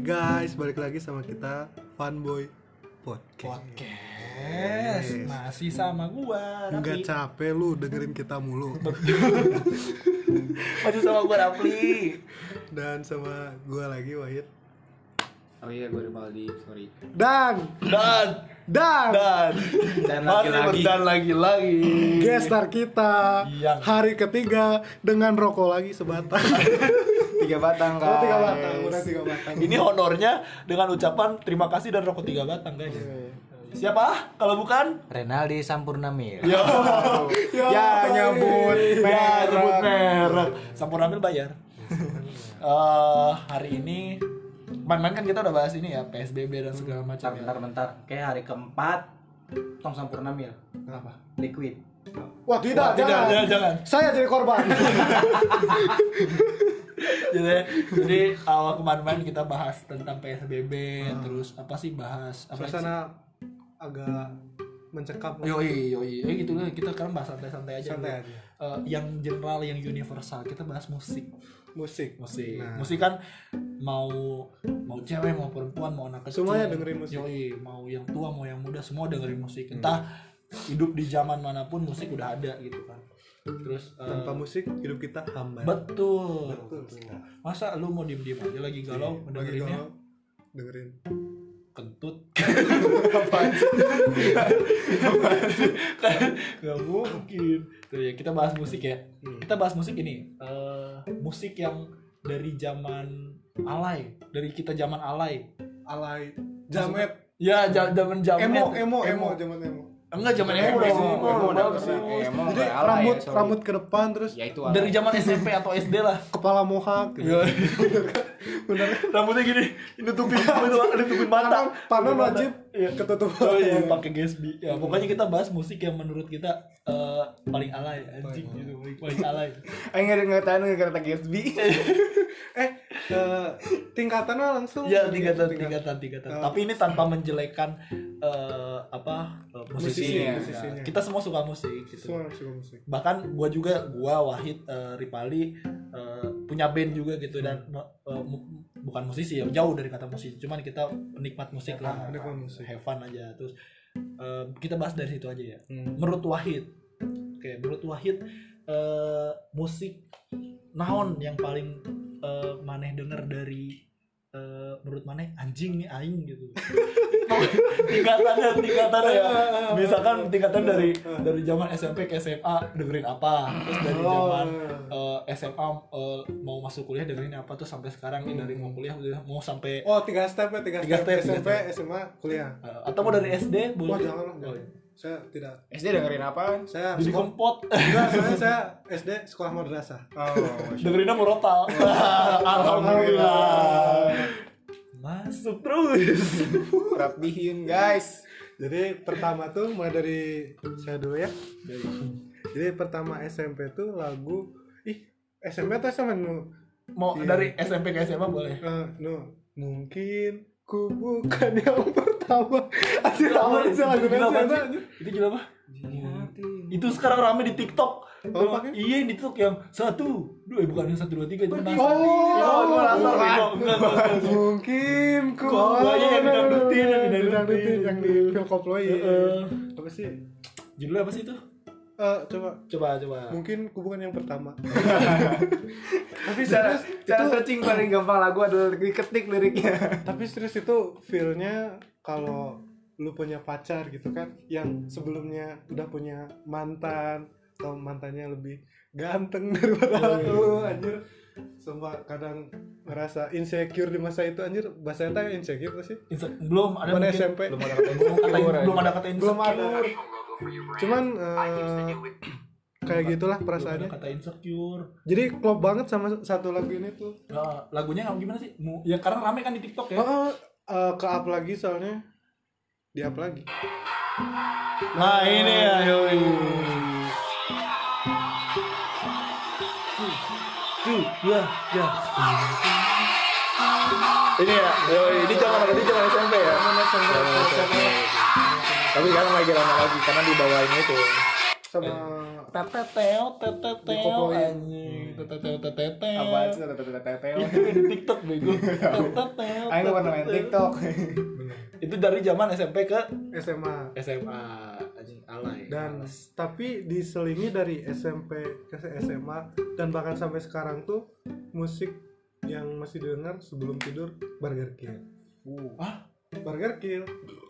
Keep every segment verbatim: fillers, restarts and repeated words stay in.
guys, balik lagi sama kita Funboy Podcast. Podcast masih sama gua. Enggak capek lu dengerin kita mulu. Masih sama gua Rapli. Dan sama gua lagi Wahid. Oh iya, gue Rivaldi, sorry. Dan Dan dan dan Dan masih lagi-lagi. dan lagi-lagi. gestar kita Yang- hari ketiga dengan rokok lagi sebatang. Tiga batang, guys. Oh, tiga batang, udah tiga batang. Ini honornya dengan ucapan terima kasih dan rokok tiga batang, guys. Siapa? Kalau bukan? Renaldi Sampurnamil. Yo. Ya, nyebut Ya, merek. sebut merek. Sampurnamil bayar. Eh, hari ini main-main kan kita udah bahas ini ya, P S B B dan segala macam. Bentar, bentar, bentar. Kayak hari keempat Tong Sampurnamil. Kenapa? Liquid. Wah, tidak, Wah, tidak, jangan. jangan, jangan. Saya jadi korban. jadi jadi awal kemarin kita bahas tentang P S B B, terus apa sih bahas apa sih? Suasana agak mencekam. Yoi, yoi, ya gitu lah. Kita sekarang bahas santai-santai aja. Santai dulu. aja. Eh, yang general, yang universal, kita bahas musik. Musik. Musik, Nah. musik kan mau mau cewek, mau perempuan, mau anak kecil. Semuanya dengerin musik. Yoi, mau yang tua, mau yang muda, semua dengerin musik. Entah hidup di zaman manapun musik udah ada gitu kan. Terus eh, Tanpa musik hidup kita hambar. betul. Betul sekali. Masa lu mau diem-diem aja lagi galau Lagi ngedengerinnya? galau, dengerin. Kentut. Apaan sih? Gak mungkin. Tuh ya, kita bahas musik ya. Kita bahas musik ini. Eh, musik yang dari zaman alay, dari kita zaman alay. Alay, jamet, Ya, ja- zaman jamet. emo, emo, emo, zaman emo. Enggak, zaman Emo, emo dong. emo, Emo, emo, bagus. emo, Jadi nggak alay rambut ya, sorry. rambut ke depan terus Ya itu Dari zaman S M P atau S D lah. kepala mohak gitu. Iya. Bener. Rambutnya gini, nutupin nutupin mata. Panon Nutupin mata. wajib Iya. ketutupan. Oh iya, pakai Gatsby. Ya, pokoknya kita bahas musik yang menurut kita eh, paling alay, anjing gitu, paling, paling alay. Ayo nggak nggak tahu nggak kata Gatsby. Eh, eh, tingkatannya langsung. Iya, tingkatan tingkatan tingkatan. Oh. Tapi ini tanpa menjelekan eh, apa eh, musisi. Musisinya. Musisinya. Kita semua suka musik gitu. Semua suka musik. Bahkan gua juga, gua Wahid, eh, Ripali eh, punya band juga gitu dan eh, mu- bukan musisi ya, jauh dari kata musisi, cuman kita penikmat musik lah, penikmat musik. have fun aja. Terus eh, kita bahas dari situ aja ya. Hmm. Menurut Wahid, oke, menurut Wahid eh, musik naon yang paling eh, maneh denger dari eh, menurut maneh anjing nih aing gitu. tingkatannya tingkatannya ya. Misalkan tingkatan dari dari zaman S M P ke S M A dengerin apa, terus dari Oh. zaman eh, S M A eh, mau masuk kuliah dengerin apa, terus sampai sekarang nih dari mau kuliah udah mau sampai Oh, tiga step ya, tiga, Tiga step. step, tiga S M P, step. S M A, kuliah. eh, atau mau dari S D boleh. Wah, jangan lah. Oh, jangan. Saya tidak. S D dengerin apa? Saya Jadi sekolah. kempot. Enggak, saya saya S D sekolah madrasah. Oh, Dengerinnya murotal. Alhamdulillah. Masuk terus. rapihin guys. Jadi pertama tuh mulai dari saya dulu ya. Jadi pertama S M P tuh lagu ih S M P atau S M P nu Mau Iya. dari S M P ke S M A boleh. eh, nu mungkin ku bukan yang pertama. Asli lama sih lagu Gila Nasional, banget sih. anjir. Itu gila apa? Itu sekarang rame di TikTok. Oh, pakai? Iya, di TikTok yang satu, dua, eh, bukan yang satu dua tiga itu nasar. Oh, itu nasar. bukan. Enggak, enggak, enggak. Mungkin ku Kok banyak yang didangdutin, yang didangdutin. didangdutin, yang di Phil Koploy. Heeh. Apa sih? Judulnya apa sih itu? Eh, coba Coba, coba. mungkin ku bukan yang pertama. Tapi cara cara searching paling gampang lagu adalah diketik liriknya. Tapi serius itu feel-nya kalau lu punya pacar gitu kan, yang sebelumnya udah punya mantan atau mantannya lebih ganteng daripada lu, anjir. Sumpah kadang ngerasa insecure di masa itu, anjir. Bahasa eta insecure tuh sih. Inse- belum ada Bukan mungkin- S M P. Belum ada kata belum kata insecure, belum ada kata Belum ada. insecure. Cuman eh, kayak gitulah Belum perasaannya. ada kata insecure. Jadi klop banget sama satu lagu ini tuh. Nah, lagunya yang gimana sih? Mu- Ya karena rame kan di TikTok ya. Oh, eh, ke up lagi soalnya. Di up lagi. Nah, ini ya, yoi. Tuh, ya, ya. Ini ya, yoi, ini zaman ini zaman S M P ya. Mana sama Zaman S M P. Tapi sekarang lagi rame lagi karena di bawahnya itu. sama Teteteo, teteteo, Dikoploin. anjing. tetel tetel. Apaan sih tetel-tetel? Itu di TikTok bego. Tetel. Ayo nggak pernah main TikTok. Itu dari zaman S M P ke S M A. S M A anjing alay. Dan tapi diselingi dari S M P ke S M A dan bahkan sampai sekarang tuh musik yang masih didengar sebelum tidur Burger Kill. Uh, ah, Burger Kill.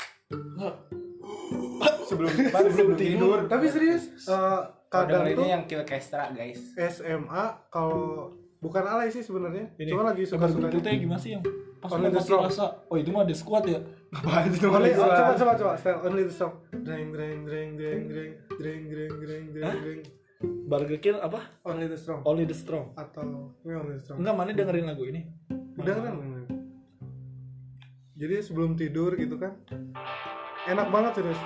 Sebelum sebelum tidur. Tapi serius, eh, kadang Kadang tuh ini yang Kill Kestra guys. S M A kalau bukan alay sih sebenarnya, ini. cuma lagi suka-suka. Itu gimana sih yang pas Only mau the mati strong. rasa. Oh, itu mah ada squad ya. Apaan sih Only, oh, coba coba coba coba style only the song. Dreng dreng dreng dreng dreng dreng dreng dreng dreng dreng. Burger Kill apa? Only the strong Only the Strong. atau ini only the strong. Enggak, mana dengerin lagu ini? Udah kan? Jadi sebelum tidur gitu kan, enak banget serius.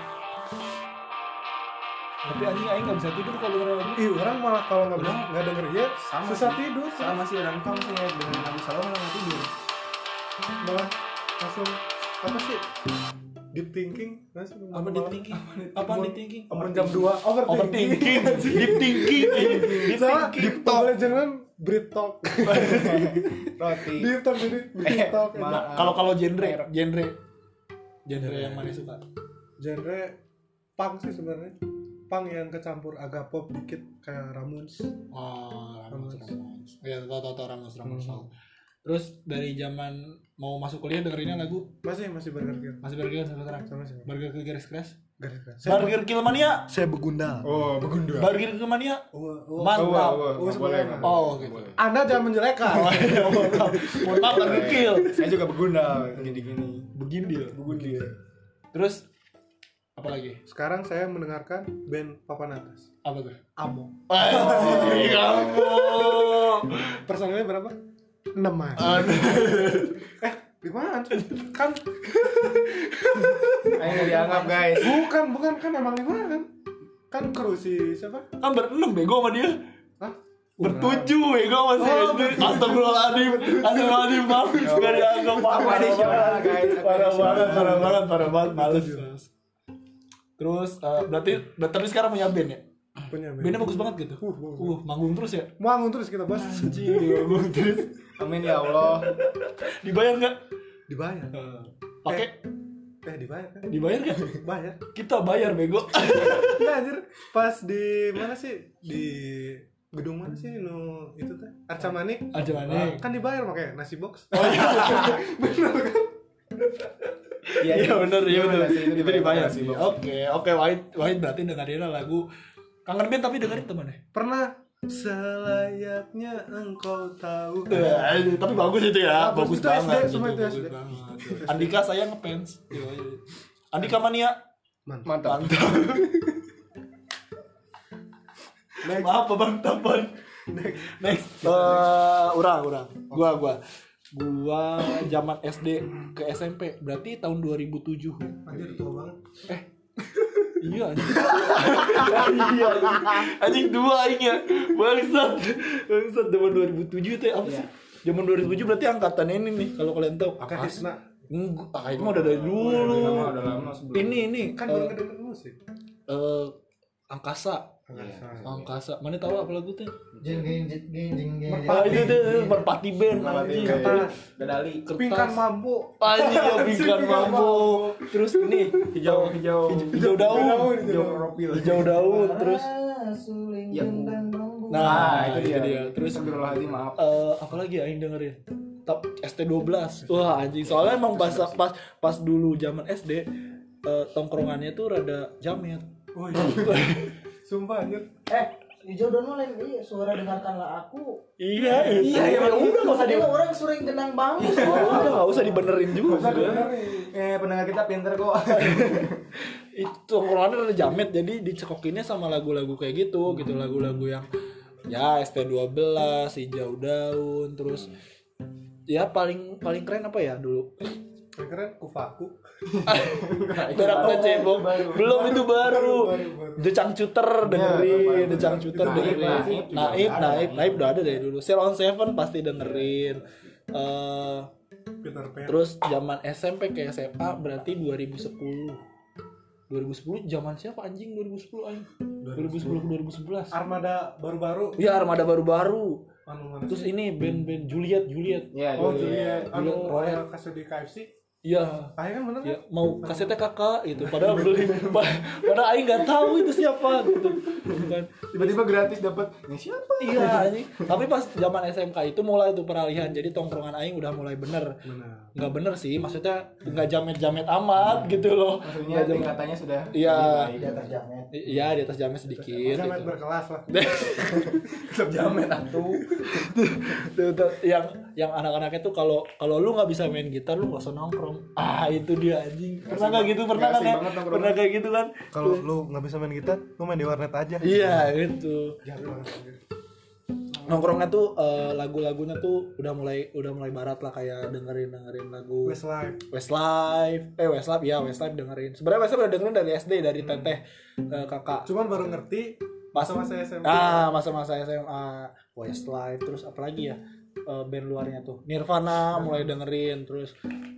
Tapi anjing aing enggak bisa tidur kalau dengerin lagu. Ih, orang malah kalau nggak Udah. nggak denger dia Sama susah sih. tidur, sama sih dan kamu sih ya dengan lagu salah malah nggak tidur. malah langsung apa sih? Deep thinking, nggak sih? Apa deep thinking? Apa deep thinking? Bangun jam dua, overthinking. Overthinking. Deep thinking. Deep Salah, thinking. deep talk. Jangan Brit talk. Roti. Deep talk jadi Brit Eh, talk. maaf. Kalau kalau genre, genre genre yang mana suka? Genre punk sih sebenarnya. Punk yang kecampur agak pop dikit kayak Ramones. Oh, Ramones, Ramones. Ramones. Ya, tau tau tau Ramones, Ramones. Hmm. Terus dari zaman mau masuk kuliah dengerinnya lagu Masih masih Burger Kill. masih Burger Kill sampai sekarang. Sama sih. Burger Kill garis keras. Garis keras. Burger Kill mania. Saya begundal. Oh, begundul. Burger Kill mania. Oh, oh, Mantap. oh, sebenarnya. Oh, gitu. Anda jangan menjelekan. Oh, iya, mantap. Mantap Burger Kill. Saya juga begundal gini-gini. Begindil. Begundil. Terus apa lagi? Sekarang saya mendengarkan band Papan Atas. Apa tuh? Amo. Anjing kamu. Personilnya berapa? enam an. Eh, lima kan? Ayo nggak dianggap guys. Bukan, bukan kan emang lima kan? Kan kru si siapa? Kan berenam bego sama dia. Hah? Bertujuh bego masih. Oh, bertujuh. Astagfirullahaladzim. Astagfirullahaladzim. Maaf. Gak dianggap. Aku Parah additional, banget. guys. Aku Parah additional. banget. Parah banget. Parah banget. Males. Terus eh, berarti tapi sekarang punya band ya? Punya band. Bandnya bagus banget gitu. Uh, bagus. Uh, manggung terus ya? Manggung terus kita bos. Anjing, manggung terus. Amin ya Allah. Dibayar nggak? Dibayar. Pakai? Eh, dibayar kan? Dibayar nggak? Bayar. Kita bayar bego. Enggak anjir. Pas di mana sih? Di gedung mana sih? Nu itu teh. Arca Manik. Aja mana? Kan dibayar pakai nasi box. Oh iya. Iya benar, iya benar. Itu dibayar sih. Oke, oke Wahid, Wahid berarti dengerin lagu Kangen Band tapi dengerin teman deh. Pernah selayaknya engkau tahu. Eh, tapi bagus itu ya, Bagus, bagus itu S D, banget. semua itu bagus S D. banget. Andika saya ngefans. Iya, iya. Andika mania. Mantap. Mantap. Mantap. Next. Maaf Bang Tapan. Next. Next. Eh, urang, urang. Gua, gua. Gua zaman S D ke S M P, berarti tahun dua ribu tujuh. Anjir tua banget. Eh. Iya anjing. Iya anjing. Anjing dua aing ya. Bangsat. Bangsat zaman dua ribu tujuh teh apa sih? Zaman dua ribu tujuh berarti angkatan ini nih kalau kalian tahu. Oke, Tisna. Enggak, ah, itu mah udah dari dulu. Lama, udah lama sebelum. Ini ini Kan eh, baru ngedenger musik. eh, angkasa. Angkasa. Angkasa. Mana tahu apa lagu tuh? Jeng jeng jeng jeng jeng. Ah itu tuh Merpati Band Merpati anjing. Band. Kertas. Dadali. Pingkan mampu. Anjing ya pingkan mampu. Terus ini Hijau, hijau. hijau daun. Hijau profil. Hijau daun terus Suling Ya, dan bambu. nah, itu dia. dia. Terus Astagfirullahaladzim, maaf. eh apa lagi ya yang dengerin? Top S T dua belas. Wah, anjing. Soalnya emang pas pas pas dulu zaman S D eh, tongkrongannya tuh rada jamet. Oh iya. Sumpah anjir. Eh, hijau dan lain iya suara dengarkanlah aku. Iya, iya, ya udah enggak usah di Tadi orang sering genang bambu. udah enggak usah dibenerin juga. Eh, pendengar kita pinter kok. Itu tongkrongannya rada jamet jadi dicekokinnya sama lagu-lagu kayak gitu, gitu lagu-lagu yang ya S T dua belas, hijau daun, terus ya paling paling keren apa ya dulu? Keren Kufaku. Berak cebong. Belum itu baru. The Cangcuter dengerin, The Cangcuter Naib, dengerin. Naib juga Naib, ada. Naib, Naib udah ada dari dulu. Sail on Seven pasti dengerin. Eh Peter Pan. terus zaman S M P ke S M A berarti dua ribu sepuluh. dua ribu sepuluh zaman siapa anjing dua ribu sepuluh anjing? dua ribu sepuluh ke dua ribu sebelas. Armada baru-baru. Iya, armada baru-baru. Anu mana Terus sih? ini band-band Juliet, Juliet. Iya, Oh dulu iya, ya. anu Juliet. Royal kasih di K F C. Iya. Ayo kan bener Ya, kan? mau kasetnya kakak gitu. Padahal beli, padahal Aing nggak tahu itu siapa gitu. Kan. Tiba-tiba gratis dapat. Ini siapa? Iya anjing. Tapi pas zaman S M K itu mulai tuh peralihan. Jadi tongkrongan Aing udah mulai bener. Benar. Nggak bener sih, maksudnya nggak jamet-jamet amat gitu loh. Maksudnya Nggak jamet- tingkatannya sudah Iya. lebih baik. Di atas jamet. Iya di atas jamet sedikit. Jamet Gitu. berkelas lah. Tetap jamet atuh. Tuh, tuh, yang yang anak-anaknya tuh kalau kalau lu nggak bisa main gitar lu nggak usah nongkrong. Ah itu dia anjing. Pernah nggak gitu? Pernah Nggak kan asik ya? banget nongkrong. Pernah kayak gitu kan? Kalau lu nggak bisa main gitar, lu main di warnet aja. Iya gitu. Jahat banget. Nongkrongnya tuh eh, lagu-lagunya tuh udah mulai udah mulai barat lah, kayak dengerin dengerin lagu Westlife. Westlife, eh Westlife ya Westlife dengerin. Sebenarnya Westlife udah dengerin dari S D, dari teteh eh, kakak. Cuman baru ngerti Pas masa-masa S M P. Ah, masa-masa S M A, Westlife, terus apa lagi ya? Eh, band luarnya tuh. Nirvana mulai dengerin, terus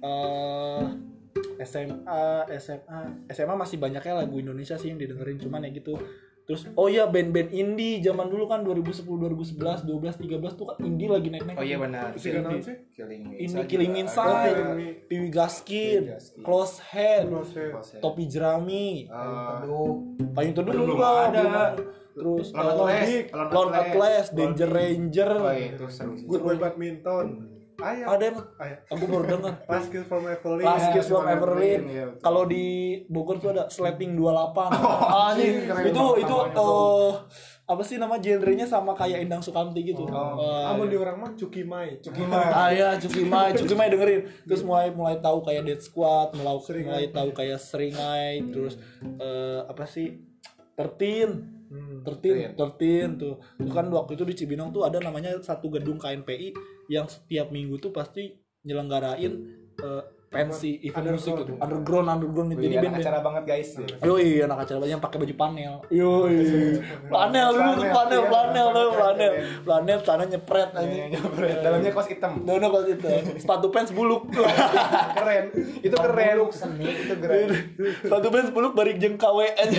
eh S M A, S M A, S M A masih banyaknya lagu Indonesia sih yang didengerin, cuman ya gitu. Terus oh iya band-band indie zaman dulu kan dua ribu sepuluh, dua ribu sebelas, dua belas, tiga belas tuh kan indie lagi naik-naik. Oh iya benar. Musik naon sih? Killing Me Indie Inside Killing Me juga Inside, ada. Killing Me. Piwi Gaskin, Piwi Gaskin. Close Head, Close Head. Close Head. Topi Jerami, Eh, Teduh. Payung Teduh Belum enggak, ada. belum ada. Terus Lone eh, Atlas, Hik, Lone Lone Atlas, Atlas, Danger Lone- Ranger. Oh iya itu seru sih. Good Boy Badminton. Ayo. Ada emang? Ayo. Aku baru denger. Last Kiss from Evelyn. Last Kiss from From Everlyn. Everlyn, iya, betul. Kalau di Bogor tuh ada Slapping dua puluh delapan. Ah, anjing, anjing. keren itu banget itu namanya, eh apa sih nama genrenya sama kayak Endang Sukamti gitu. Oh. Eh, Amun di orang mah Cuki Mai. Gimana? Ah ya, Cuki Mai, Cuki Mai dengerin. Terus mulai mulai tahu kayak Dead Squad, mulai Seringai. mulai tahu kayak Seringai, terus eh, apa sih? Tertin. Hmm. Tertin, tertin tuh. Itu kan waktu itu di Cibinong tuh ada namanya satu gedung K N P I yang setiap minggu tuh pasti nyelenggarain eh, pensi event musik gitu. Underground, underground gitu. Jadi Jadi band-band. acara banget guys. Yoi, anak acara banyak yang pakai baju panel. Yoi. Panel dulu tuh panel, panel tuh panel. Panel tanah nyepret aja. Dalamnya kaos hitam. Dono kalau itu. Sepatu pants buluk. Keren. Itu keren. Seni. Itu keren. Sepatu pants buluk barik jeng K W aja.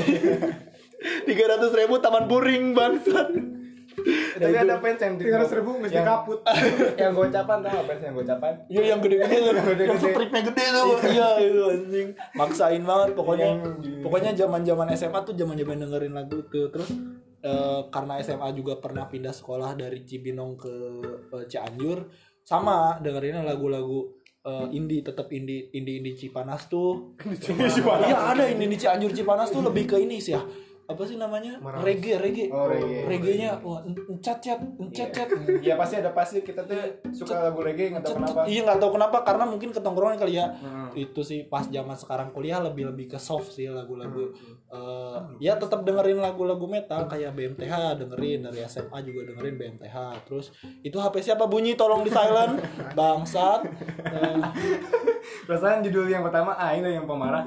tiga ratus ribu taman puring bangsat. Tapi ada fans yang Tiga ratus ribu mesti yang- kaput. Yang gocapan tau apa fans yang gocapan? Iya yang gede-gede tuh, gede-gede. yang stripnya gede tuh. Iya itu anjing. Maksain banget pokoknya. Yang- Pokoknya zaman-zaman S M A tuh zaman-zaman dengerin lagu tuh. Terus eh, karena S M A juga pernah pindah sekolah dari Cibinong ke eh, Cianjur, sama dengerinnya lagu-lagu eh, indie, tetap indie, indie indie Cipanas tuh. Iya ada indie di Cianjur Cipanas tuh lebih ke ini sih ya. Apa sih namanya? Maraus. Reggae, reggae. Oh, reggae. Reggae-nya wah encet-cet, encet-cet. Iya pasti ada pasti kita tuh suka lagu reggae nggak tahu kenapa. Iya nggak tahu kenapa, karena mungkin ketongkrongan kali ya. Hmm. Itu sih pas zaman sekarang kuliah lebih lebih ke soft sih lagu-lagu. Hmm. Eh, ya tetap dengerin lagu-lagu metal kayak B M T H dengerin, dari S M A juga dengerin B M T H. Terus itu H P siapa bunyi, tolong di silent. Bangsat. Eh, Perasaan judul yang pertama Aing yang pemarah.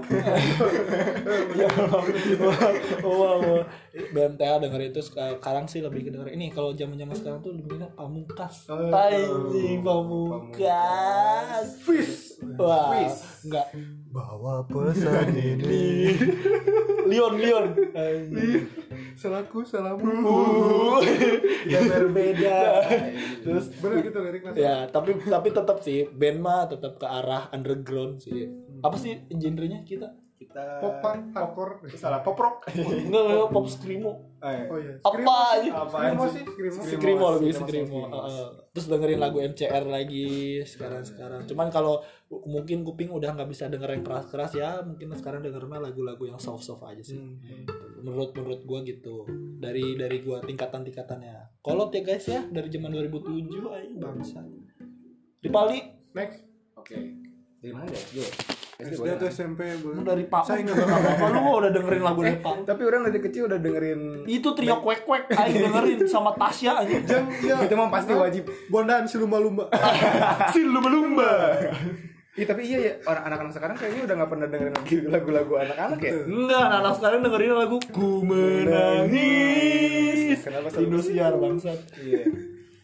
oh, wow, wow. B M T H dengerin itu sekarang sih lebih ke dengerin ini. Kalau zaman-zaman sekarang tuh lebih enak Pamungkas. Oh. Anjing Pamungkas. Fis. Wah, Fis. enggak. Bawa pesan ini. Leon, Leon. Anjing. Salahku, salahmu. Kita berbeda. Terus Bener gitu liriknya. ya, tapi tapi tetap sih band mah tetap ke arah underground sih. Apa sih genrenya kita? Kita Pop punk, hardcore. salah pop rock. Enggak, enggak pop screamo. Eh. Oh iya. Apa aja? Screamo sih, screamo. Screamo lebih Screamo, screamo. Screamo. Heeh. Terus dengerin lagu M C R lagi sekarang-sekarang. Cuman kalau mungkin kuping udah nggak bisa denger yang keras-keras ya, mungkin sekarang dengernya lagu-lagu yang soft-soft aja sih. Menurut menurut gua gitu. Dari dari gua tingkatan-tingkatannya. Kolot ya guys ya, dari zaman dua ribu tujuh aja bangsa. Di Pali Next. Oke. Dari mana guys? Gue. S D atau S M P boleh. dari Pak. Saya Saya nggak apa lu udah dengerin lagu dari Pak. Tapi orang dari kecil udah dengerin Itu trio kuek-kuek aing dengerin sama Tasya aja. Jang, ya. itu mah pasti wajib. Bondaan si lumba-lumba. Si lumba-lumba. Iya tapi iya ya orang anak-anak sekarang kayaknya udah nggak pernah dengerin lagi lagu-lagu anak-anak ya. Enggak, anak sekarang dengerin lagu Ku Menangis. Kenapa selalu- Indosiar bangsat. Iya.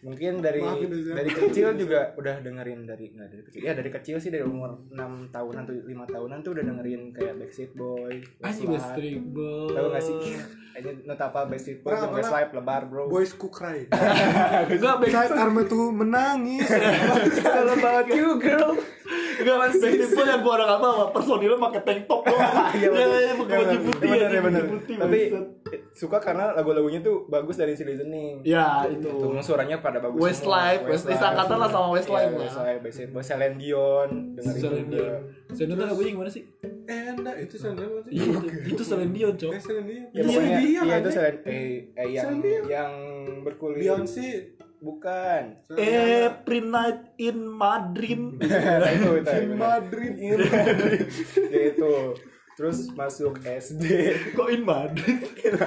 Mungkin dari Maafin aja. dari kecil juga udah dengerin dari nggak dari kecil ya dari kecil sih dari umur enam tahunan atau lima tahunan tuh udah dengerin kayak Backstreet Boy, Anjing Westlife. Backstreet Boy. Tahu nggak sih? Ini not apa Backstreet Boy Pernah, sama pernah. Westlife lebar bro. Boys Cook Cry. Enggak Saat Arma tuh menangis. All about you girl. Enggak mas Backstreet Boy yang gua orang apa apa personilnya pakai tank top doang. Iya Ya bener. ya pakai baju putih Bener, ya, bener. baju putih. Tapi bangsat. eh, suka karena lagu-lagunya tuh bagus dari si listening. Ya itu. Itu suaranya pada bagus Westlife, semua. Westlife angkatan lah sama Westlife Iya, lah. Westlife, Backstreet Boy, Celine Dion, dengerin Celine juga. Dion. Celine Dion lagunya gimana sih? Enggak, itu Celine Dion. Iya itu, itu Celine Dion, Cok. Eh, Celine Dion. Ya, Iya, pokoknya, dia iya kan, itu eh. Celine eh, eh yang Celine Dion. yang berkulit. Beyonce. Bukan. Every night in Madrid. Nah, itu itu. Di bener. Madrid. Ya itu. Terus masuk S D. Kok in Madrid?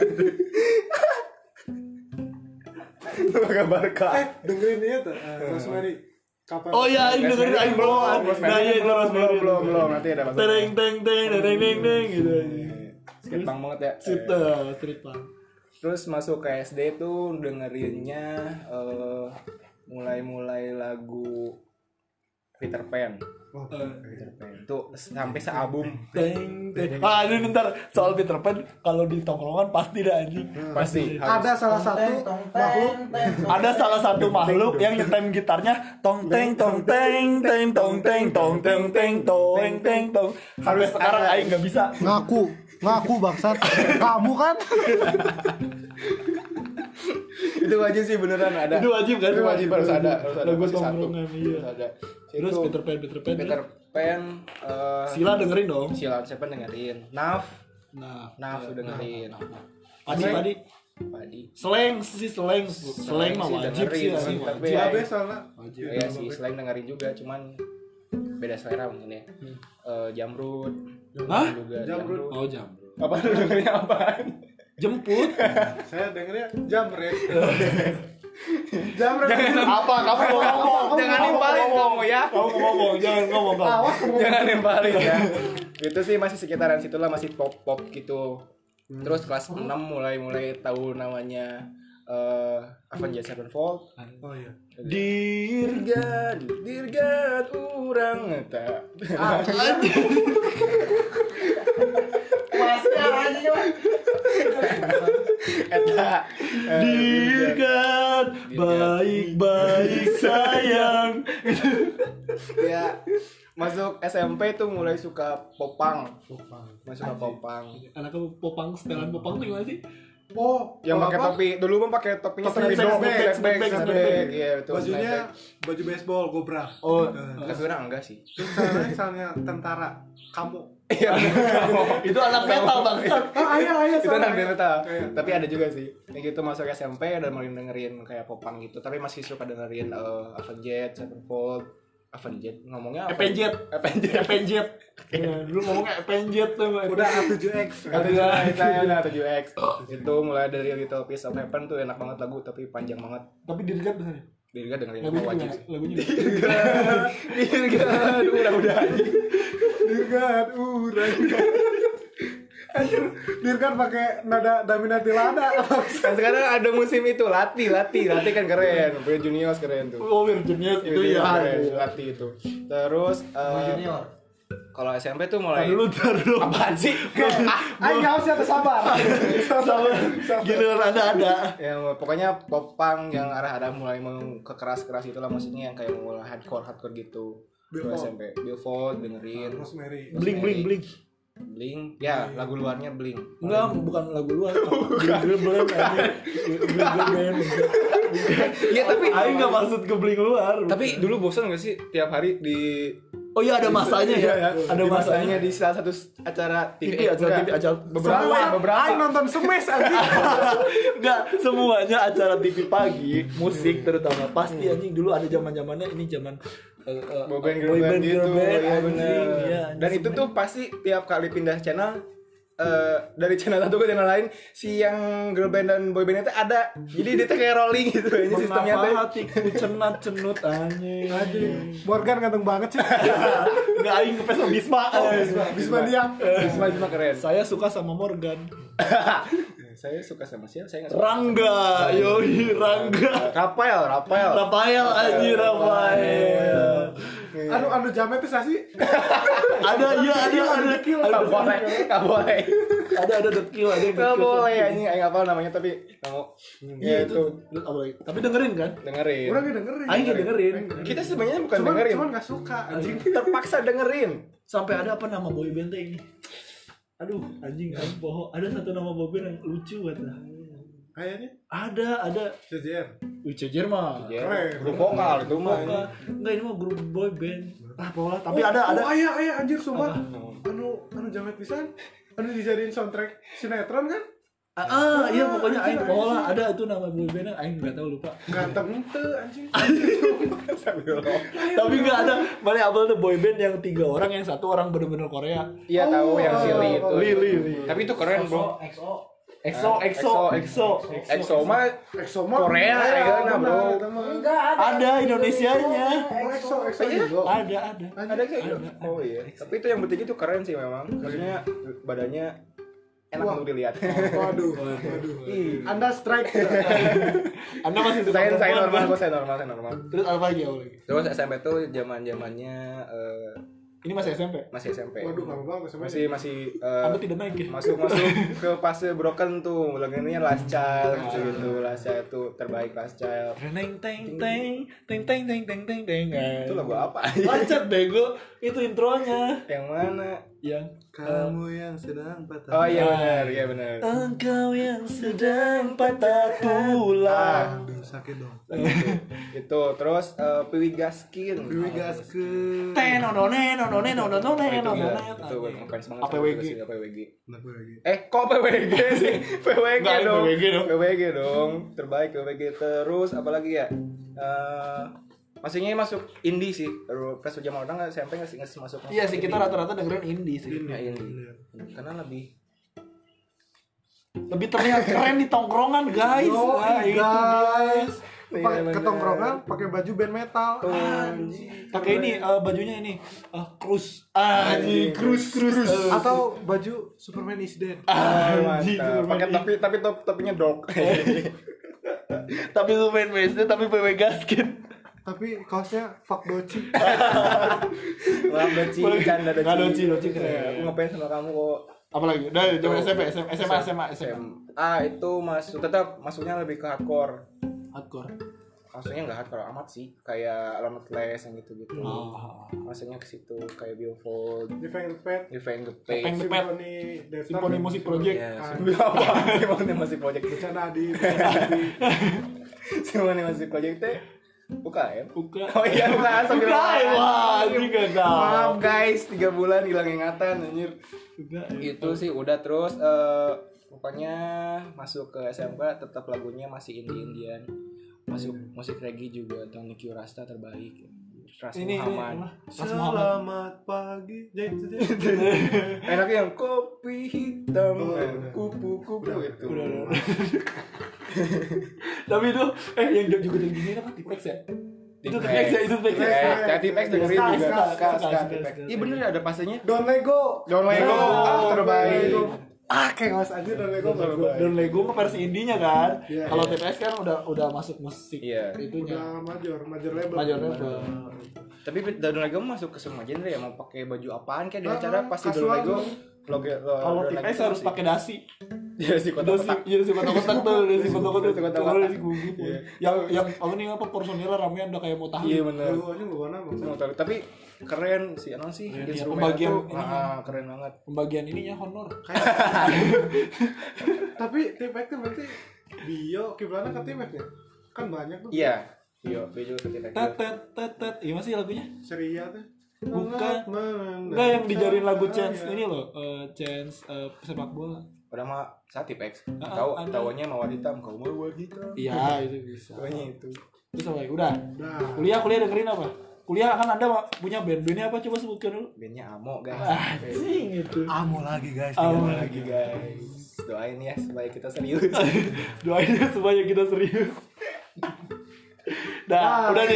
Pakai Barca. Eh, dengerin dia tuh. eh, Rosemary. Kapan? Oh iya, ini dengerin Aing belum. Nah iya itu belum Rosemary. belum belum belum nanti ada masuk. Teng teng teng teng teng teng gitu. Skate punk banget ya. Street Eh, uh, street punk. Terus masuk ke S D tuh dengerinnya eh, mulai-mulai lagu Peter Pan. Oh, Peter Pan. Tuh sampai sealbum Teng teng. Ah, ini bentar soal Peter Pan kalau di tongkrongan pasti dah anjing. pasti ada salah satu makhluk Ada salah satu makhluk yang nyetem gitarnya tong teng tong teng teng tong teng tong teng teng tong teng tong. Harus sekarang aing enggak bisa. Ngaku, ngaku bangsat. Kamu kan? itu wajib sih beneran ada. Itu wajib kan? Itu wajib harus ada, harus ada Lagu pasti satu. tongkrongan iya. Harus ada. Terus Itu Peter Pan Peter Pan. Peter Pan eh, Sila dengerin dong. Sila siapa dengerin? Naf, Nah, Naf tuh dengerin. Padi padi. Padi. Seleng sih seleng. Seleng mah sih wajib dengerin, sih cuman anjing tapi wajib. ya, Babe soalnya. Wajib. Iya sih, selain dengerin juga, cuman beda selera mungkin ya. Eh, Jamrud. Hah? Juga Jamrud. Oh jamrut. Apa lu dengerinnya apaan? Jemput. Saya dengernya Jamret. Jamret. Apa? Kamu mau ngomong? Jangan Kamu nimpalin ngomong. kamu ya. Kamu mau ngomong, jangan ngomong kamu. Jangan nimpalin ya. Itu sih masih sekitaran situlah, masih pop-pop gitu. Terus kelas enam mulai-mulai tahu namanya eh Avenged Sevenfold. Oh iya. Dirgat, dirgat urang eta. Masih aja. Eta Dirgat, baik-baik sayang. ya masuk S M P tuh mulai suka popang. Masuk suka popang. Anak kamu popang, setelan popang tuh gimana sih? Oh, Yang oh, pakai apa? topi, dulu mah pakai topinya Topi snapback, snapback, snapback, snapback, snapback, snapback. iya betul. Bajunya snapback. baju baseball Cobra. Oh, Tapi orang enggak sih. Terus caranya misalnya tentara kamu. Iya. itu anak metal bangsat. Ah, ayah, ayah. Itu soalnya. anak metal. Iya. Tapi ada juga sih. Kayak gitu masuk S M P dan mulai dengerin kayak popang gitu. Tapi masih suka dengerin uh, Avenged Sevenfold. Avenged ngomongnya apa? Avenged. Avenged. Avenged. Ya, dulu ngomongnya Avenged tuh. Udah A tujuh X. Kata gue, saya udah tujuh X. Itu mulai dari Little Piece of Heaven tuh enak banget lagu tapi panjang banget. Tapi Dirgat bener. Dirga dengerin Lagunya apa wajib gimana? sih. Lagunya. Dirga, udah udah aja. Dirgat urang. Anjir, Dirgat pakai nada Daminati Lada. Kan sekarang ada musim itu Lati, Lati, Lati kan keren. Bro Juniors keren tuh. Oh, Virginia itu Itu ya. keren, Lati itu. Terus eh, Junior. kalau S M P tuh mulai Dulu dulu. apaan sih? Ayo nggak usah sabar. Sama giliran ada ada. Ya pokoknya popang yang arah-arah mulai mau ke keras-keras itulah maksudnya yang kayak mulai hardcore hardcore gitu. Dulu S M P, Billfold dengerin. Rosemary. Bling bling bling. Bling, ya lagu luarnya Bling. Enggak, bukan lagu luar. Bling bling aja. Bling bling. Iya tapi Aing enggak maksud ke bling luar. tapi dulu bosan gak sih tiap hari di Oh iya ada masanya ya. Iya, Ada di masanya. di salah satu acara T V, T V acara T V enggak. acara beberapa semua beberapa Ayo nonton semes anjing. enggak semuanya acara T V pagi musik terutama pasti anjing dulu ada zaman-zamannya ini zaman eh, eh, boy band girl boy band band, gitu girl band, ya anjing. bener. Iya, Dan anjing, itu tuh pasti tiap kali pindah channel eh, dari channel satu ke channel lain si yang girl band dan boy band itu ada jadi dia tuh kayak rolling gitu ini sistemnya Mengapa tuh hatiku cenat cenut anjing. Anjing. Morgan ganteng banget sih. Enggak aing ngefans sama Bisma. Bisma dia. Bisma Bisma keren Saya suka sama Morgan. Saya suka sama siapa? Saya nggak suka. Rangga, yoi Rangga. Rafael, Rafael. Rafael anjir Rafael. Anu anu jamet itu sih. Ada iya ada ada Dekil. Nggak boleh, nggak boleh. ada ada dekil ada yang Nggak dekil. boleh anjing, aing hafal namanya tapi nggak mau. Iya Ya itu. itu Apa lagi? Tapi dengerin kan? dengerin. Orang nggak dengerin. Aing nggak dengerin. Kita sebenarnya bukan Cuman dengerin. cuman nggak suka anjing. Terpaksa dengerin. Sampai ada apa nama boyband teh ini? Aduh, anjing aing poho. Ada satu nama boyband yang lucu kata. Kayaknya Ada, ada. C J R. Ucejer mah. Ya, Keren. grup vokal itu mah. Vokal. Enggak ini mah grup boyband. Ah, pola. Tapi ada ada. Oh ayah ayah anjir sumpah. Apa? Anu anu jamet pisan. Anu dijadiin soundtrack sinetron kan? Ah, ah, iya pokoknya aing pola ada itu nama boybandnya aing enggak tahu lupa. Ganteng teu anjing. Tapi enggak ada. Mana abal tuh boyband yang tiga orang yang satu orang bener-bener Korea. Iya tahu yang si Lee itu. Li Li Li. Tapi itu keren, Bro. X O. EXO, EXO, EXO, EXO mah EXO mah Korea, ya kan, bro. Enggak ada. Ada Indonesianya. EXO EXO Iya? juga. Ada, ada. Ada kayak gitu. Oh iya. Tapi itu yang bertiga itu keren sih memang. Maksudnya badannya enak Wah. untuk dilihat. Waduh, waduh. Ih. Anda strike. Anda masih suka Saya saya perempuan, normal, kan? kok saya normal, saya normal. Terus apa lagi apa lagi? Terus S M P tuh zaman-zamannya eh, Ini masih S M P. masih S M P. Waduh, lama banget sama Masih masih eh, Anda tidak naik ya? masuk masuk ke fase broken tuh lagunya Last Child gitu gitu Last Child tuh terbaik Last Child. Teng teng teng teng teng teng teng teng teng. Itu lagu apa? Lancar bego. Itu intronya. Yang mana? Yang kamu yang sedang patah. Oh iya benar, iya benar. engkau yang sedang patah tulang. Aduh, sakit dong. Itu terus eh, Piwi Gaskin. Dewi Gaskeun. Tenonone nonone nonone Oh, itu nonone. gila. Itu ngefans banget. A P W G. A P W G. Kenapa lagi? Eh, kok P W G sih? P W G Enggak, dong. P W G dong. P W G dong. Terbaik P W G. Terus apalagi ya? Eh maksudnya masuk indie sih. Terus pas zaman orang S M P nggak sih nggak masuk. Iya sih kita rata-rata dengerin indie sih. Ya indie. Karena lebih Lebih terlihat keren di tongkrongan guys. Oh, Nah, itu guys. Iya, Pakai bener. ketongkrongan pakai baju band metal. Pakai ini eh, bajunya ini eh, Cruise. Anjing, Cruise Cruise. Eh, Atau baju Superman is Dead. Anjing, mantap. Pakai tapi tapi top topinya dog. tapi lu main Messi tapi P W Gaskin. Tapi kaosnya fuck doci. Maaf Doci, canda Doci. Nggak, Doci, Doci keren. Ya, aku ngapain sama kamu kok. Apalagi? Udah zaman S M P, S M A, S M A, S M A, S M A. Ah itu masuk tetap masuknya lebih ke hardcore. Hardcore. Maksudnya nggak hardcore amat sih, kayak Limitless yang gitu-gitu. Oh. Maksudnya ke situ kayak Billfold, Defend the Pet. Defend the Defend Page. the Pet. Symphony Death Star. Symphony Music Project. Ya, Symphony apa? Symphony Music Project. Bercanda di. Adi. Symphony Music Project teh bukan. Buka. Oh iya bukan, sambil Bukan. Wah, ini gak tahu. Maaf guys, tiga bulan hilang ingatan anjir. Buka. Itu sih udah terus eh, pokoknya masuk ke S M K tetap lagunya masih indie-indian. Masuk musik reggae juga, Tony Q Rasta terbaik. Ras Ini Muhammad. Ras Muhammad. Selamat pagi. Jadi itu jadi. Enaknya yang kopi hitam, Oh, udah. kupu-kupu itu. Udah, udah, udah. Tapi itu eh yang juga gini apa Tipex ya? Itu Tipex ya, itu Tipex ya. Eh, ya Tipex dengerin Ska, juga. ska, Ska, ska, ska, ska, Tipex. ska. Iya bener ada pasenya. Don Lego. Don Lego, ah terbaik. Ah, kayak ngawas aja Don Lego bagus. Dan Lego mah versi indinya kan. Iya. Kalau T P S kan udah udah masuk musik Iya. itunya. Udah major, major label. Major label. Tapi Don Lego masuk ke semua genre ya, mau pakai baju apaan kayak di Ah, acara pasti Don kasual. Lego. Logo Kalau T P S harus pakai dasi. ya sih Udah sih, kotak-kotak. iya sih kotak-kotak tuh, udah sih kotak-kotak. Udah kotak-kotak. Udah sih gugup. Iya. Yang yang apa nih apa personilnya ramean udah kayak mau tahan. Iya bener. Lu aja lu warna bang. Mau tahu. Tapi keren sih, emang sih Keren, iya. instrumen Pembagian tuh ininya. ah, keren banget. Pembagian ininya honor. Tapi T-Pack tuh berarti bio kiblana ke T-Pack ya? Kan banyak tuh. Iya. Iya, bejo ketika Tet tet tet tet. Iya masih lagunya? Seria tuh. Bukan. Menang. Enggak yang dijarin lagu Chance Iya. ini loh, eh, Chance eh, sepak bola. udah mah saat Tipex. Ah, Tahu ada. tahunya mawar hitam, kau mawar hitam. Iya, itu bisa. Pokoknya itu. Terus apa lagi? Udah. Nah, Kuliah kuliah dengerin apa? Kuliah kan Anda punya band. Bandnya apa coba sebutkan dulu. Bandnya Amo guys. Anjing itu. amo lagi guys. Amo tinggal Lagi guys. Doain ya supaya kita serius. Doain supaya kita serius. Nah, Ah, udah nih.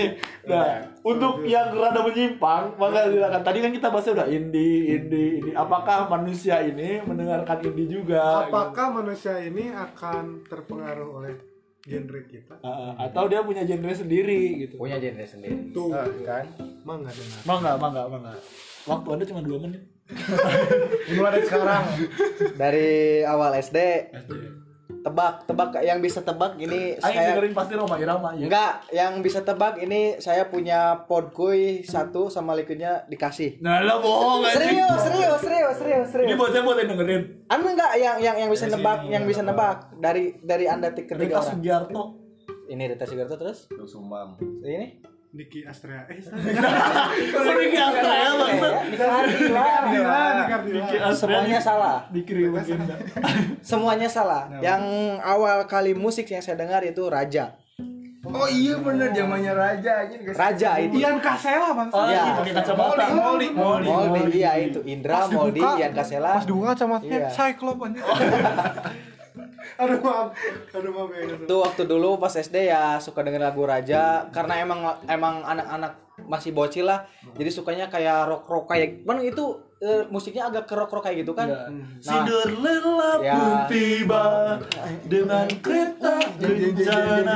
Nah, untuk yang rada menyimpang, maka silakan. Tadi kan kita bahasnya udah indie, indie, ini. Apakah manusia ini mendengarkan indie juga? Apakah manusia ini akan terpengaruh oleh genre kita? Uh, atau dia punya genre sendiri gitu? Punya genre sendiri. Tuh, Nah, kan. Emang nggak dengar. Mangga, mangga, mangga. Waktu Anda cuma dua menit. Mulai dari sekarang. Dari awal S D. Tebak, tebak yang bisa tebak ini Ayo saya dengerin pasti Roma Irama ya. enggak, yang bisa tebak ini saya punya podkuy satu sama liquidnya dikasih. Nah, lah bohong anjing. Serius, serius, serius, serius, Ini serius. buat saya buat yang dengerin. Anda enggak yang yang yang bisa Dari nebak, sini, yang bisa apa? nebak dari dari Anda tik- Rita ketiga orang. Sugiarto. Ini Rita Sugiarto terus? Tuh Sumam. Ini? Niki Astrea. Eh, Sering apa ya bangsa? Nika Ardila. Kardila, Niki Diki Kardila. Semuanya salah. Dikirim agenda. Semuanya salah. Yang awal kali musik yang saya dengar itu Raja. Oh iya bener zamannya Raja aja. Raja itu. Ian Kasela bang. Oh, Iya. iya, pakai kacamata. Molly, Molly. Moldy, iya itu Indra, Pas Moldy, dibuka, Ian Kasela. Pas dibuka kacamatanya Iya. Cyclops anjir. Aduh maaf. Aduh maaf ya. Itu waktu dulu pas S D ya suka denger lagu Raja karena emang emang anak-anak masih bocil lah. Jadi sukanya kayak rock-rock kayak mana itu eh, musiknya agak ke rock-rock kayak gitu kan. Nah, Nah, Cinderella Ya. pun tiba dengan kereta bencana.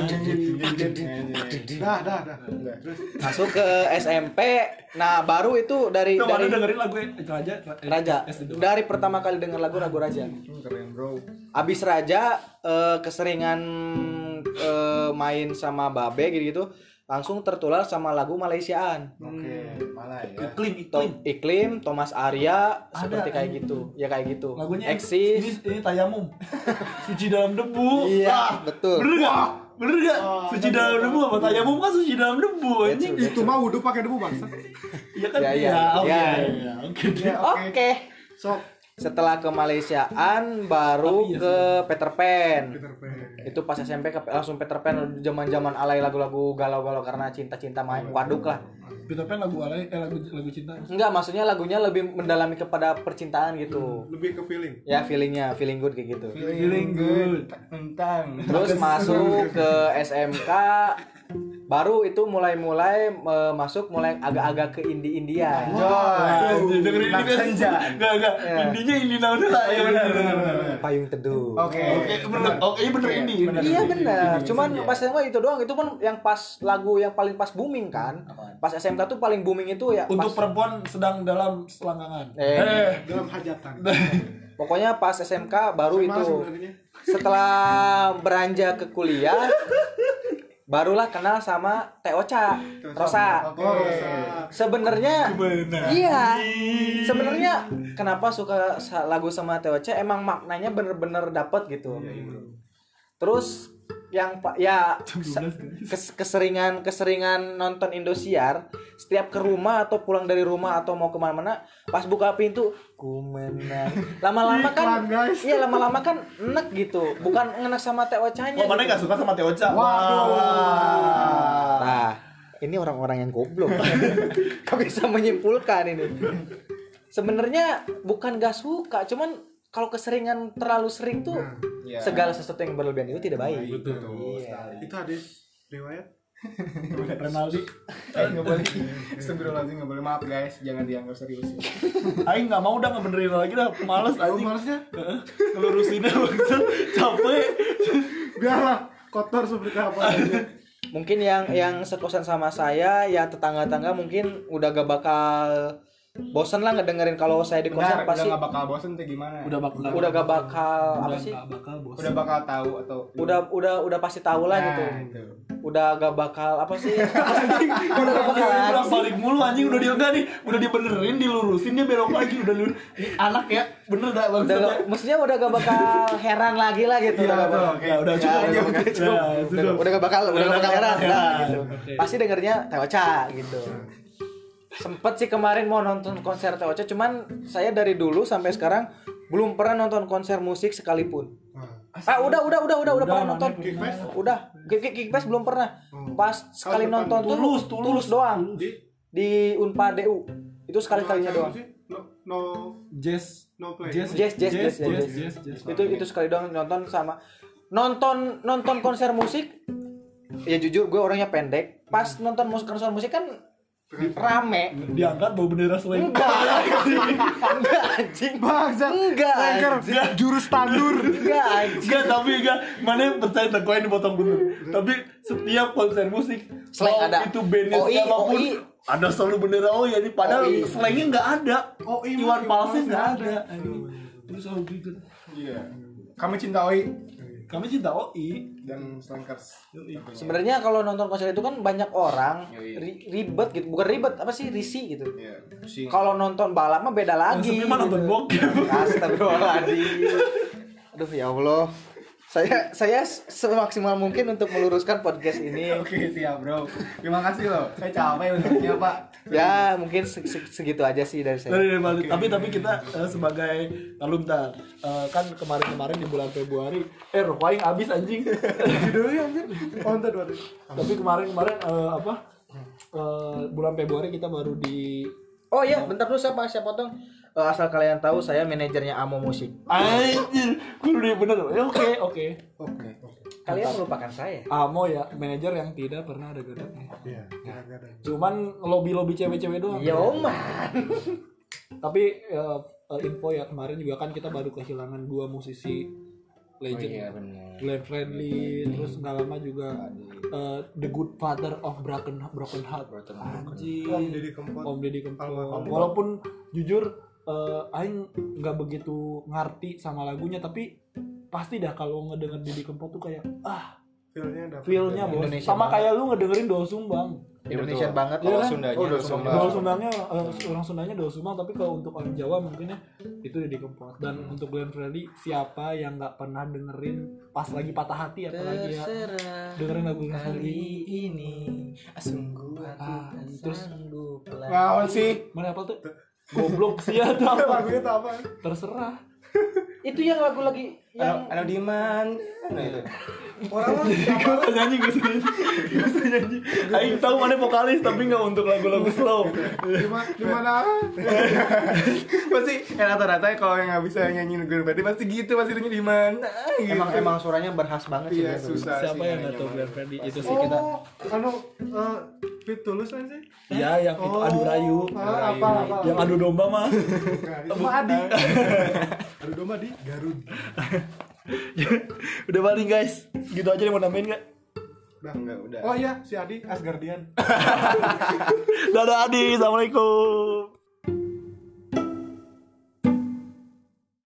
Dah, dah, dah. Terus masuk ke S M P. Nah, baru itu dari Tuh, dari mana dengerin lagu Raja? Raja. S D doang. Dari pertama kali denger lagu lagu Raja. Keren bro. Abis Raja eh, keseringan eh, main sama Babe gitu-gitu, langsung tertular sama lagu Malaysiaan. Oke, malah ya. Iklim, To- iklim. Iklim, Thomas Arya, Ada, seperti kayak ada. gitu. Ya kayak gitu. Lagunya Eksis. ini, ini Tayamum. Suci dalam debu. Iya, Ah, betul. Bener gak? Bener gak? Suci dalam debu apa Tayamum kan suci dalam debu anjing. itu mah wudhu pakai debu bangsa. Iya kan? Ya, iya. oh, Ya. iya, iya. Oke. deh. Oke. Sok Setelah ke Malaysiaan baru Tapi iya ke Peter Pan. Peter Pan. Itu pas S M P ke, langsung Peter Pan zaman-zaman alay lagu-lagu galau-galau karena cinta-cinta main waduk lah. Peter Pan lagu alay, eh lagu lagu cinta. Enggak, maksudnya lagunya lebih mendalami kepada percintaan gitu. Lebih ke feeling. Ya feelingnya, feeling good kayak gitu. Feeling good. Tentang. Terus masuk ke S M K, baru itu mulai-mulai eh, masuk mulai agak-agak ke indie-indian. Wah, dengerin ini Nak kan. senja. Enggak, enggak. Ya. Indinya indie naon lah. Ya benar benar benar. Payung Teduh. Oke. Oke, bener. Oke, iya bener indie. Bener. Iya benar. Indie, Cuman senja. pas S M K itu doang, itu pun yang pas lagu yang paling pas booming kan. Pas S M K tuh paling booming itu ya Untuk pas, perempuan sedang dalam selangkangan. eh, Dalam hajatan. pokoknya pas S M K baru Sama itu. sebenarnya. Setelah beranjak ke kuliah barulah kenal sama Teh Ocha, Rosa. Oke. Oh, Rosa. Sebenarnya Benar. iya. Sebenarnya kenapa suka sa- lagu sama Teh Ocha emang maknanya bener-bener dapet gitu. Terus yang pak ya se- kes- keseringan keseringan nonton Indosiar setiap ke rumah atau pulang dari rumah atau mau kemana-mana pas buka pintu ku menang lama-lama kan Iklan, guys. iya lama-lama kan enek gitu bukan enek sama Teh Ochanya Oh, mana gitu. enggak suka sama Teh Ocha? Waduh. Nah, ini orang-orang yang goblok. Kau bisa menyimpulkan ini. Sebenarnya bukan gak suka, cuman kalau keseringan terlalu sering tuh Iya. segala sesuatu yang berlebihan itu tidak baik. Betul. Iya. Itu hadis riwayat. Renaldi. Eh nggak boleh. Astagfirullahaladzim nggak boleh. Maaf guys, jangan dianggap serius. Ya. Aing enggak mau udah ngebenerin lagi dah, males Oh, anjing. malesnya Heeh. Ngelurusinnya maksud capek. biarlah kotor seperti apa aja. Mungkin yang yang sekosan sama saya, yang tetangga-tangga mungkin udah gak bakal bosen lah ngedengerin kalau saya di kosan Benar, udah pasti nggak bakal bosen tuh gimana? Udah bakal udah gak bakal apa udah sih? nggak bakal bos. Udah bakal tahu atau Udah udah udah pasti tahu lah Nah, gitu. itu. Udah gak bakal apa sih? udah gak bakal Udah lagi sih. balik mulu anjing udah dia enggak nih, udah dibenerin, dilurusin dia belok lagi udah lu. Ini anak ya, bener dah Bang. Udah gak- maksudnya udah gak bakal heran lagi lah gitu. Iya, udah gak betul. bakal, Oke. Ya udah cukup Ya, aja udah udah cukup. udah, udah gak bakal udah gak bakal heran lah gitu. Oke. Pasti dengernya Teh Ocha gitu. Sempet sih kemarin mau nonton konser Teh Ocha, cuman saya dari dulu sampai sekarang belum pernah nonton konser musik sekalipun. Ah udah udah udah udah udah pernah nonton. Kickfest? Udah, Kick Kickfest belum pernah. Pas sekali Tahun nonton depan. tuh Tulus, tulus, tulus. doang Di di Unpad D U. Itu sekali-kalinya Apa doang. sih? No no Jazz. no play. Jazz, Jazz, jazz, jazz, jazz, jazz, jazz. jazz, jazz. Itu itu sekali doang nonton sama nonton nonton konser musik ya jujur gue orangnya pendek. Pas nonton musik konser musik kan rame. Diangkat bawa bendera slang. Enggak anjing. Enggak anjing. Bangsat. Enggak anjing. Jurus tandur. Enggak anjing. Enggak, tapi enggak. Mana percaya tak koin dipotong dulu. Tapi setiap konser musik Slang mau ada. itu bandnya O I, siapapun O I. ada selalu bendera O I. Jadi padahal O I. slangnya enggak ada. O I Iwan mah Falsnya Iwan enggak Fals ada. Terus selalu gitu. Iya. Kami cinta O I Kami cinta O I. dan Slankers. Sebenarnya kalau nonton konser itu kan banyak orang Yoi. ri- ribet gitu, bukan ribet apa sih risih gitu. Iya. Pusing. Kalau nonton balap mah beda lagi. Yang sepi mah nonton bokep. Astagfirullahaladzim. Aduh ya Allah. Saya saya semaksimal mungkin untuk meluruskan podcast ini. Oke, siap, Bro. Terima kasih loh. Saya capek untuknya, Pak. Ya mungkin se- se- segitu aja sih dari saya. Dari Bali. Tapi tapi kita eh, sebagai alumni eh, kan kemarin-kemarin di bulan Februari eh rokok aing habis anjing. Judulnya anjir. Oh, entar dua. Tapi kemarin-kemarin eh, apa? Eh, bulan Februari kita baru di Oh iya, bentar dulu saya saya potong. Eh, asal kalian tahu saya manajernya Amo Musik. anjir, kudu dia bener. Eh, Oke, oke. Oke. Kalian melupakan saya. Amo ya, manajer yang tidak pernah ada gadangnya. Iya, enggak ada. Cuman lobby-lobby cewek-cewek doang. Ya oman. Tapi eh, eh, info ya kemarin juga kan kita baru kehilangan dua musisi legend. Oh iya, benar. Glenn Fredly, terus nggak lama juga eh, The Good Father of Broken Broken Heart. Anjing. Om Deddy Kempot. Om Deddy Kempot. Almarhum. Walaupun jujur eh, aing nggak begitu ngerti sama lagunya, tapi pasti dah kalau ngedenger Deddy Kempot tuh kayak ah Feel-nya dapet. feel-nya bos. Indonesia Sama banget. kayak lu ngedengerin Doa Sumbang. Indonesia banget. Kalau kan? Sundanya, Oh, Doa Sunda. Sumbang. Doa Sumbangnya eh, orang Sundanya Doa Sumbang, tapi kalau untuk orang Jawa mungkinnya itu Deddy Kempot. Dan untuk Glenn Fredly, siapa yang nggak pernah dengerin pas lagi patah hati apalagi ya Terserah dengerin lagu Glenn kali Fredly. ini sungguh Ah, aku terus- sanggup lagi. Ngawan sih. Mana apa tuh? Goblok sih ya tuh apa? Lagunya tuh apa? Terserah. Itu yang lagu lagi yang Ano di mana? Nah, itu. Orang mah Gak usah nyanyi, gak usah nyanyi. Gak usah nyanyi. Aing tahu mana vokalis tapi gak untuk lagu-lagu slow. di ma- di mana? Pasti ya rata-rata kalau yang nggak bisa nyanyi Glenn Fredly pasti gitu, pasti nyanyi di mana. Gitu. emang emang suaranya berkhas banget sih. Iya, Glenn. susah Siapa sih yang gak nyanyi tahu sama Glenn dia. Fredly? Itu Pasti. sih kita. Oh, anu eh, Fit Tulus kan sih? Ya yang itu adu rayu. Ah, apa apa? Yang adu domba mah. Nah, itu mah Adi. Aduh domba di Garut. Udah balik guys. Gitu aja yang mau nambahin gak? Udah enggak, udah. Oh iya, si Adi Asgardian. Dadah Adi, assalamualaikum.